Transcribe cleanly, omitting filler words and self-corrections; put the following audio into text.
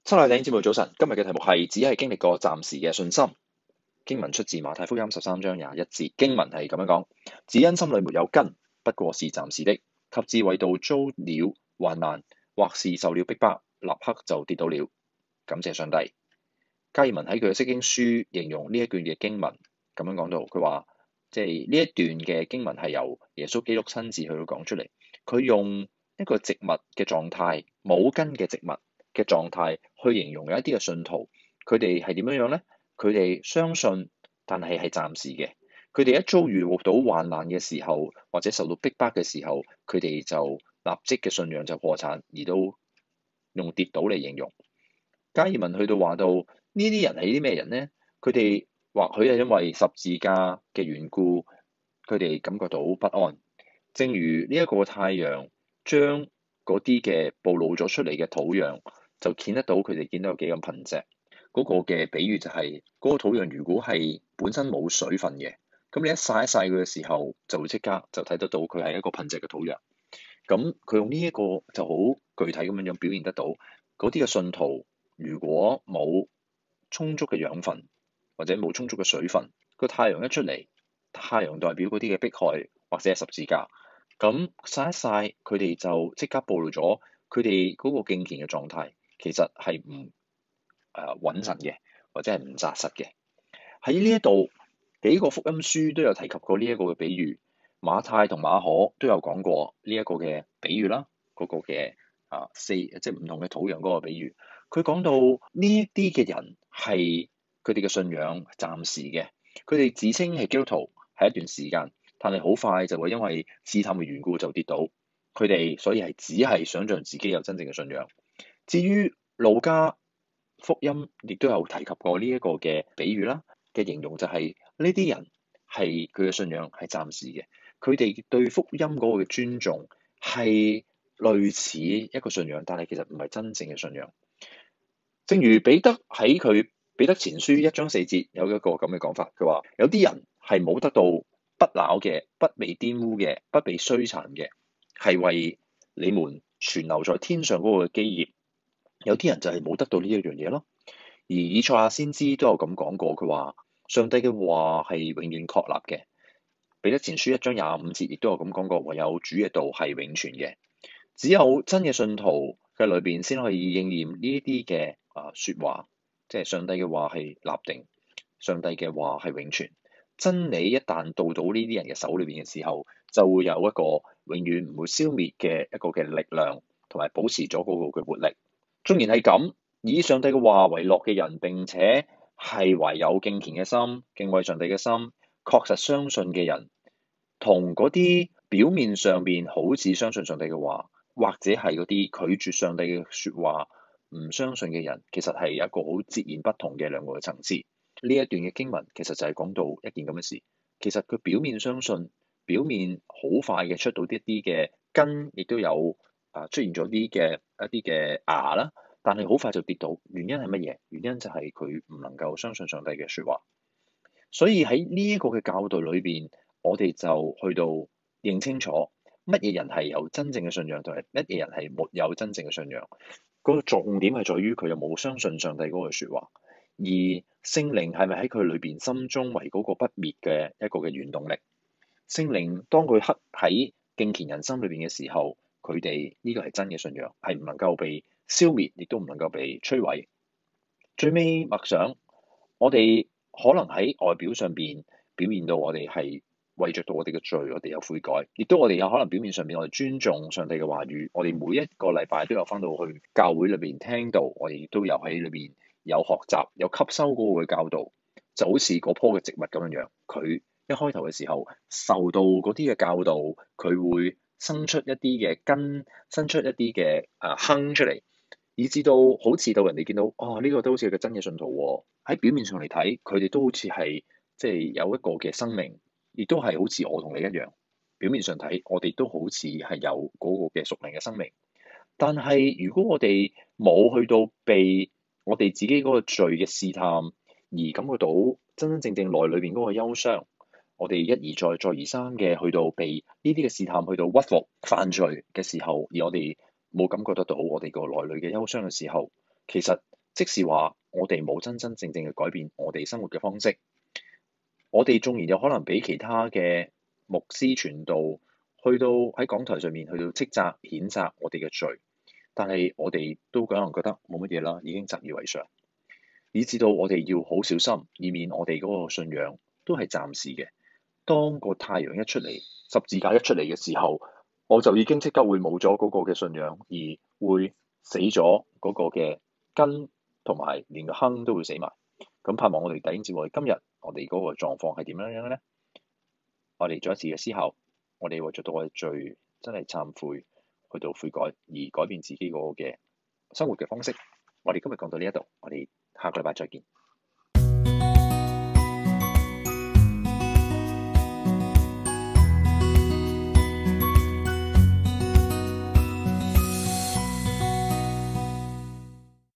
親愛的弟兄姊妹早晨，今日嘅題目係只係經歷過暫時嘅信心。經文出自馬太福音13章21節，經文係咁樣講：只因心裡沒有根，不過是暫時的；及至為道遭了患難，或是受了逼迫，立刻就跌倒了。感謝上帝。加爾文喺佢嘅釋經書形容呢一段嘅經文咁樣講到，佢話即係呢一段嘅經文係由耶穌基督親自去講出嚟，佢用一個植物嘅狀態，冇根嘅植物嘅狀態去形容有一啲嘅信徒，佢哋係點樣樣咧？佢哋相信，但係暫時嘅。佢哋一遭遇到患難嘅時候，或者受到逼迫嘅時候，佢哋就立即嘅信仰就破產，而都用跌倒嚟形容。加爾文去到話到呢啲人係啲咩人咧？佢哋或許係因為十字架嘅緣故，佢哋感覺到不安。正如呢一個太陽將嗰啲嘅暴露咗出嚟嘅土壤，就見得到佢哋見到有幾咁貧瘠。嗰個嘅比喻就係嗰個土壤，如果係本身冇水分嘅，咁你一曬一曬佢嘅時候，就會即刻就睇得到佢係一個貧瘠嘅土壤。咁佢用呢一個就好具體咁樣表現得到，嗰啲嘅信徒如果冇充足嘅養分或者冇充足嘅水分，個太陽一出嚟，太陽代表嗰啲嘅迫害或者係十字架，咁曬一曬佢哋就即刻暴露咗佢哋嗰個敬虔嘅狀態，其實係唔穩陣嘅，或者係唔紮實嘅。喺呢一度幾個福音書都有提及過呢一個嘅比喻，馬太同馬可都有講過呢一個嘅比喻啦，嗰個嘅即係唔同嘅土壤嗰個比喻。佢講到呢一啲嘅人係佢哋嘅信仰暫時嘅，佢哋自稱係基督徒係一段時間，但係好快就會因為試探嘅緣故就跌倒。佢哋所以係只係想像自己有真正嘅信仰。至於路加福音亦都有提及過呢一個嘅比喻啦，嘅形容就係呢啲人係佢嘅信仰係暫時嘅，佢哋對福音嗰個嘅尊重係類似一個信仰，但係其實唔係真正嘅信仰。正如彼得喺佢彼得前書1章4節有一個咁嘅講法，佢話有啲人係冇得到不朽嘅、不被玷污嘅、不被摧殘嘅，係為你們存留在天上嗰個基業。有啲人就係冇得到呢一樣嘢咯。而以賽亞先知都有咁講過，佢話上帝嘅話係永遠確立嘅。彼得前書1章25節亦都有咁講過，唯有主嘅道係永存嘅。只有真嘅信徒嘅裏邊先可以應驗呢一啲嘅説話，即係上帝嘅話係立定，上帝嘅話係永存。真理一旦到到呢啲人嘅手裏邊嘅時候，就會有一個永遠唔會消滅嘅一個嘅力量，同埋保持咗嗰個嘅活力。縱然係咁，以上帝嘅話為樂嘅人，並且係懷有敬虔嘅心、敬畏上帝嘅心、確實相信嘅人，同嗰啲表面上邊好似相信上帝嘅話，或者係嗰啲拒絕上帝嘅説話、唔相信嘅人，其實係一個好截然不同嘅兩個嘅層次。呢一段嘅經文其實就係講到一件咁嘅事。其實佢表面相信，表面好快嘅出到一啲嘅根，亦都有出現咗啲嘅一啲嘅芽啦，但係好快就跌倒。原因係乜嘢？原因就係佢唔能夠相信上帝嘅説話。所以喺呢一個嘅教導裏邊，我哋就去到認清楚乜嘢人係有真正嘅信仰，同埋乜嘢人係沒有真正嘅信仰。嗰個重點係在於佢有冇相信上帝嗰句説話，而聖靈係咪喺佢裏邊心中為嗰個不滅嘅一個嘅原動力？聖靈當佢刻喺敬虔人心裏邊嘅時候，佢哋呢個係真嘅信仰，係唔能夠被消滅，亦都唔能夠被摧毀。最尾默想，我哋可能喺外表上邊表現到我哋係為着到我哋嘅罪，我哋有悔改，亦都我哋有可能表面上邊我哋尊重上帝嘅話語，我哋每一個禮拜都有返到去教會裏邊聽到，我哋亦都有喺裏邊有學習有吸收嗰個嘅教導，就好似嗰棵嘅植物咁樣樣，佢一開頭嘅時候受到嗰啲嘅教導，佢會生出一啲嘅根，生出一啲嘅坑出嚟，以至到好似到人哋見到呢個都好似個真嘅信徒喎。喺表面上嚟睇，佢哋都好似係即係有一個嘅生命，亦都係好似我同你一樣。表面上睇，我哋都好似係有嗰個嘅屬靈嘅生命，但係如果我哋冇去到被我哋自己嗰個罪嘅試探而感覺到真真正正內裏邊嗰個憂傷，我哋一而再再而三嘅去到被呢啲嘅試探去到屈服犯罪嘅時候，而我哋冇感覺得到我哋個內裏嘅憂傷嘅時候，其實即是話我哋冇真真正正嘅改變我哋生活嘅方式。我哋縱然有可能俾其他嘅牧師傳道去到喺講台上面去到斥責譴責我哋嘅罪，但係我哋都可能覺得冇乜嘢啦，已經習以為常，以至到我哋要好小心，以免我哋嗰個信仰都係暫時嘅。當個太陽一出嚟，十字架一出嚟嘅時候，我就已經即刻會冇咗嗰個嘅信仰，而會死咗嗰個嘅根，同埋連個坑都會死埋。咁盼望我哋弟兄姊妹，今日我哋嗰個狀況係點樣樣咧？我哋再一次嘅思考，我哋為咗到我哋罪真係懺悔，去到悔改而改變自己嗰個嘅生活嘅方式。我哋今日講到呢一度，我哋下個禮拜再見。